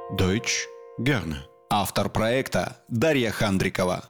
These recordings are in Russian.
Deutsch gerne. Автор проекта Дарья Хандрикова.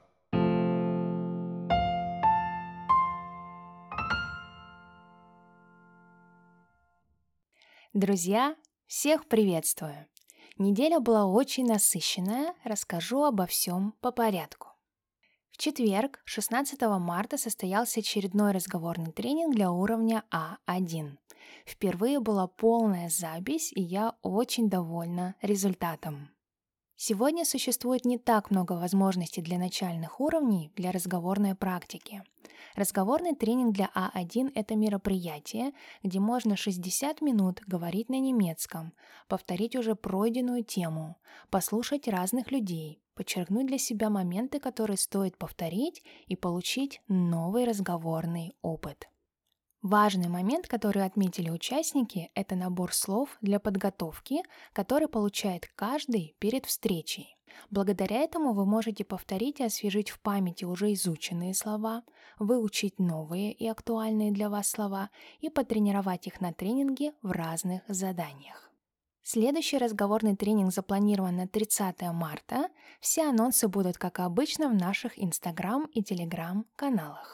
Друзья, всех приветствую! Неделя была очень насыщенная, расскажу обо всем по порядку. В четверг, 16 марта, состоялся очередной разговорный тренинг для уровня А1. Впервые была полная запись, и я очень довольна результатом. Сегодня существует не так много возможностей для начальных уровней для разговорной практики. Разговорный тренинг для А1 – это мероприятие, где можно 60 минут говорить на немецком, повторить уже пройденную тему, послушать разных людей, подчеркнуть для себя моменты, которые стоит повторить, и получить новый разговорный опыт. Важный момент, который отметили участники, это набор слов для подготовки, который получает каждый перед встречей. Благодаря этому вы можете повторить и освежить в памяти уже изученные слова, выучить новые и актуальные для вас слова и потренировать их на тренинге в разных заданиях. Следующий разговорный тренинг запланирован на 30 марта. Все анонсы будут, как обычно, в наших Instagram и Telegram каналах.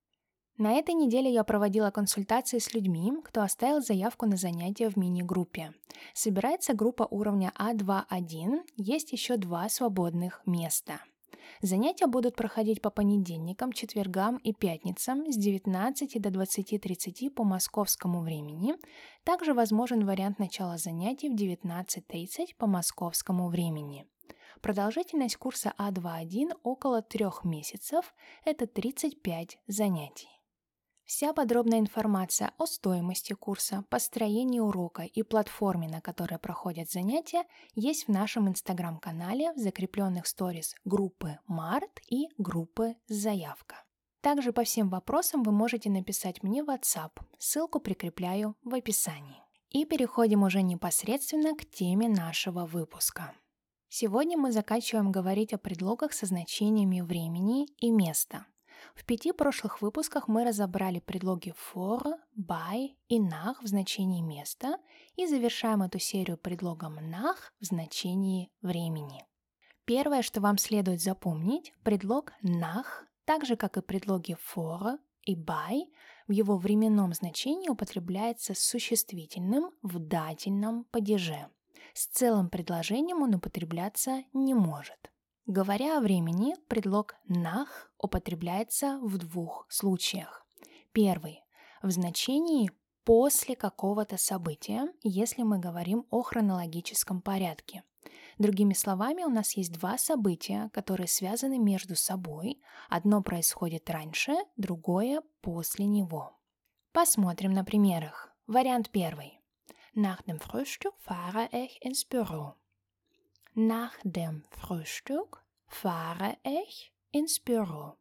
На этой неделе я проводила консультации с людьми, кто оставил заявку на занятия в мини-группе. Собирается группа уровня А2-1, есть еще 2 свободных места. Занятия будут проходить по понедельникам, четвергам и пятницам с 19 до 20:30 по московскому времени. Также возможен вариант начала занятий в 19:30 по московскому времени. Продолжительность курса А2-1 около 3 месяцев, это 35 занятий. Вся подробная информация о стоимости курса, построении урока и платформе, на которой проходят занятия, есть в нашем инстаграм-канале в закрепленных сторис группы «Март» и группы «Заявка». Также по всем вопросам вы можете написать мне в WhatsApp, ссылку прикрепляю в описании. И переходим уже непосредственно к теме нашего выпуска. Сегодня мы заканчиваем говорить о предлогах со значениями времени и места. В 5 прошлых выпусках мы разобрали предлоги for, by и nach в значении места и завершаем эту серию предлогом nach в значении времени. Первое, что вам следует запомнить, предлог nach, так же как и предлоги for и by, в его временном значении употребляется с существительным в дательном падеже. С целым предложением он употребляться не может. Говоря о времени, предлог nach употребляется в 2 случаях. Первый – в значении «после какого-то события», если мы говорим о хронологическом порядке. Другими словами, у нас есть 2 события, которые связаны между собой. Одно происходит раньше, другое – после него. Посмотрим на примерах. Вариант первый. Nach dem Frühstück fahre ich ins Büro. Nach dem Frühstück fahre ich ins Büro.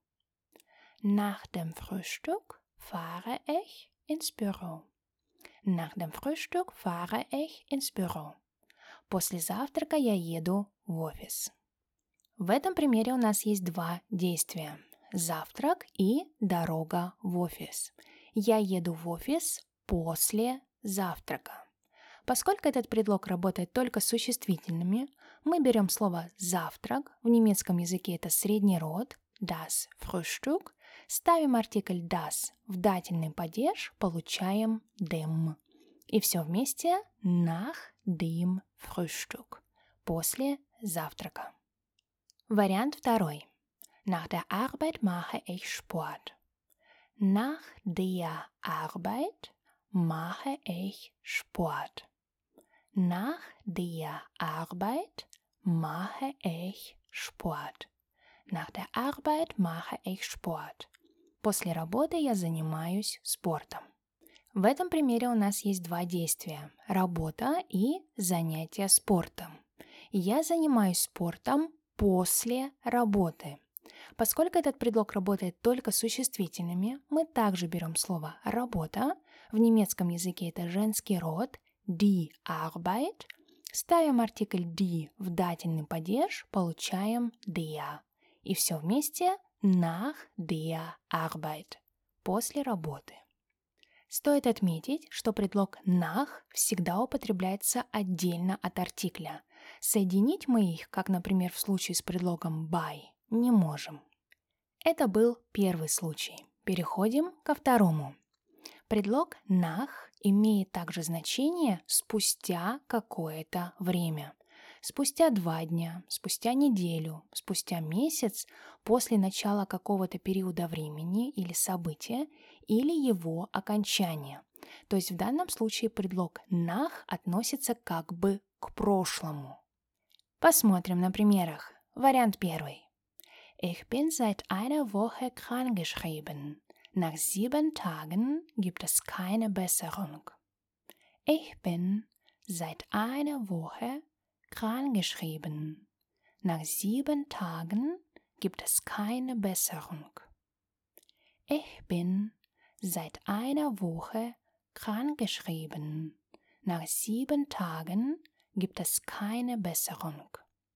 Nach dem Frühstück fahre ich ins Büro. Nach dem Frühstück fahre ich ins Büro. После завтрака я еду в офис. В этом примере у нас есть 2 действия. Завтрак и дорога в офис. Я еду в офис после завтрака. Поскольку этот предлог работает только с существительными, мы берем слово «завтрак», в немецком языке это средний род, das Frühstück, ставим артикль das в дательный падеж, получаем dem. И все вместе nach dem Frühstück, после завтрака. Вариант второй. Nach der Arbeit mache ich Sport. Nach der Arbeit mache ich Sport. Nach der Arbeit mache ich Sport. Nach der Arbeit mache ich Sport. После работы я занимаюсь спортом. В этом примере у нас есть 2 действия – работа и занятие спортом. Я занимаюсь спортом после работы. Поскольку этот предлог работает только с существительными, мы также берем слово «работа», в немецком языке это женский род, die Arbeit, ставим артикль die в дательный падеж, получаем der. И все вместе nach der Arbeit, после работы. Стоит отметить, что предлог nach всегда употребляется отдельно от артикля. Соединить мы их, как, например, в случае с предлогом by, не можем. Это был первый случай. Переходим ко второму. Предлог nach имеет также значение спустя какое-то время. Спустя 2 дня, спустя неделю, спустя месяц после начала какого-то периода времени или события или его окончания. То есть в данном случае предлог nach относится как бы к прошлому. Посмотрим на примерах. Вариант первый. Ich bin seit einer Woche krankgeschrieben. Nach 7 Tagen gibt es keine Besserung. Ich bin seit einer Woche krankgeschrieben. Nach 7 Tagen gibt es keine Besserung. Ich bin seit einer Woche krankgeschrieben. Nach 7 Tagen gibt es keine Besserung.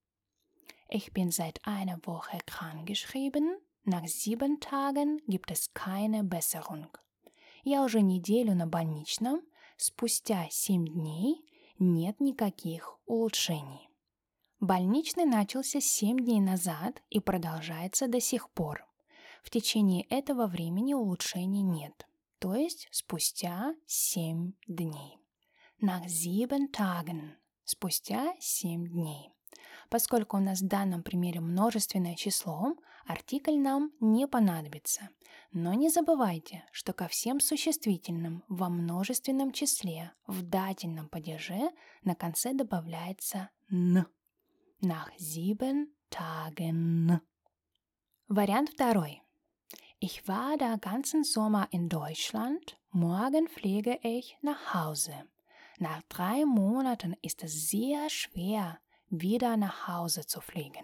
Ich bin seit einer Woche krankgeschrieben. Nach 7 Tagen gibt es keine Besserung. Я уже неделю на больничном. Спустя 7 дней нет никаких улучшений. Больничный начался 7 дней назад и продолжается до сих пор. В течение этого времени улучшений нет, то есть спустя 7 дней. Nach 7 Tagen – спустя 7 дней. Поскольку у нас в данном примере множественное число, артикль нам не понадобится. Но не забывайте, что ко всем существительным во множественном числе в дательном падеже на конце добавляется «н». Nach 7 Tagen. Вариант второй. Ich war den ganzen Sommer in Deutschland. Morgen fliege ich nach Hause. Nach 3 Monaten ist es sehr schwer, wieder nach Hause zu fliegen.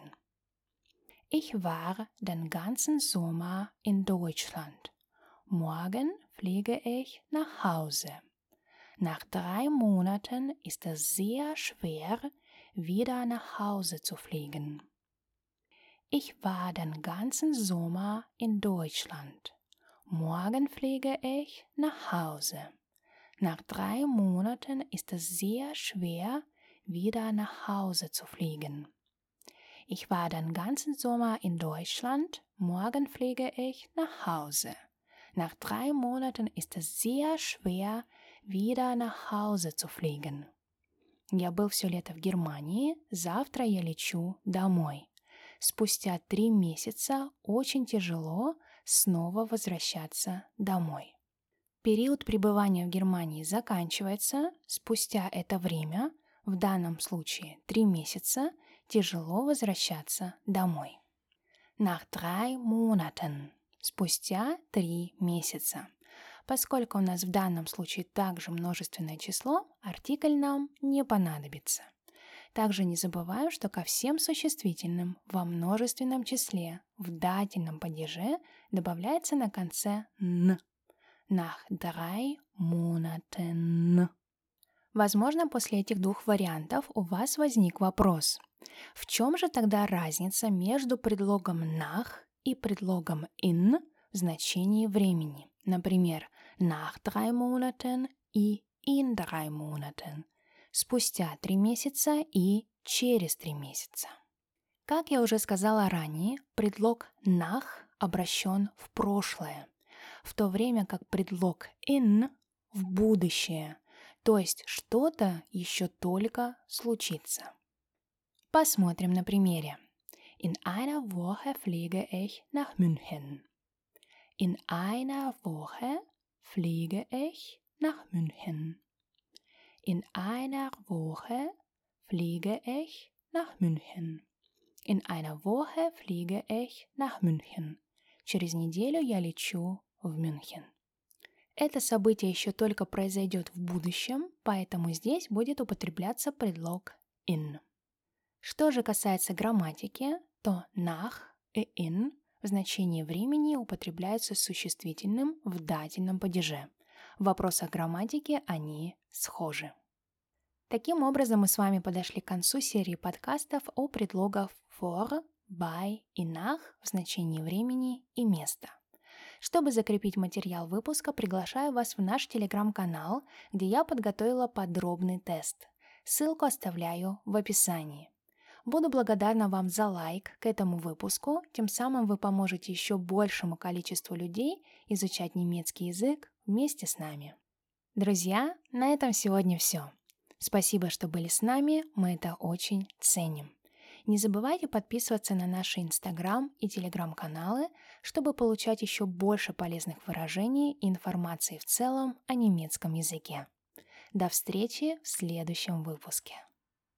Ich war den ganzen Sommer in Deutschland. Morgen fliege ich nach Hause. Nach 3 Monaten ist es sehr schwer, wieder nach Hause zu fliegen. Ich war den ganzen Sommer in Deutschland. Morgen fliege ich nach Hause. Nach 3 Monaten ist es sehr schwer, wieder nach Hause zu fliegen. Ich war den ganzen Sommer in Deutschland. Morgen fliege ich nach Hause. Nach 3 Monaten ist es sehr schwer, wieder nach Hause zu fliegen. Я был все лето в Германии. Завтра я лечу домой. Спустя 3 месяца очень тяжело снова возвращаться домой. Период пребывания в Германии заканчивается. Спустя это время, в данном случае 3 месяца, тяжело возвращаться домой. Nach 3 Monaten. Спустя 3 месяца. Поскольку у нас в данном случае также множественное число, артикль нам не понадобится. Также не забываем, что ко всем существительным во множественном числе в дательном падеже добавляется на конце «н». Nach 3 Monaten. Возможно, после этих двух вариантов у вас возник вопрос. В чем же тогда разница между предлогом nach и предлогом in в значении времени? Например, nach 3 Monaten и in 3 Monaten. Спустя 3 месяца и через 3 месяца. Как я уже сказала ранее, предлог nach обращен в прошлое, в то время как предлог in в будущее, то есть что-то еще только случится. Посмотрим на примере. In einer Woche fliege ich nach München. In einer Woche fliege ich nach München. In einer Woche fliege ich nach München. In einer Woche fliege ich nach München. Через неделю я лечу в Мюнхен. Это событие еще только произойдет в будущем, поэтому здесь будет употребляться предлог in. Что же касается грамматики, то nach и in в значении времени употребляются с существительным в дательном падеже. В вопросах грамматики они схожи. Таким образом, мы с вами подошли к концу серии подкастов о предлогах for, by и nach в значении времени и места. Чтобы закрепить материал выпуска, приглашаю вас в наш телеграм-канал, где я подготовила подробный тест. Ссылку оставляю в описании. Буду благодарна вам за лайк к этому выпуску, тем самым вы поможете еще большему количеству людей изучать немецкий язык вместе с нами. Друзья, на этом сегодня все. Спасибо, что были с нами, мы это очень ценим. Не забывайте подписываться на наши Инстаграм и Телеграм-каналы, чтобы получать еще больше полезных выражений и информации в целом о немецком языке. До встречи в следующем выпуске.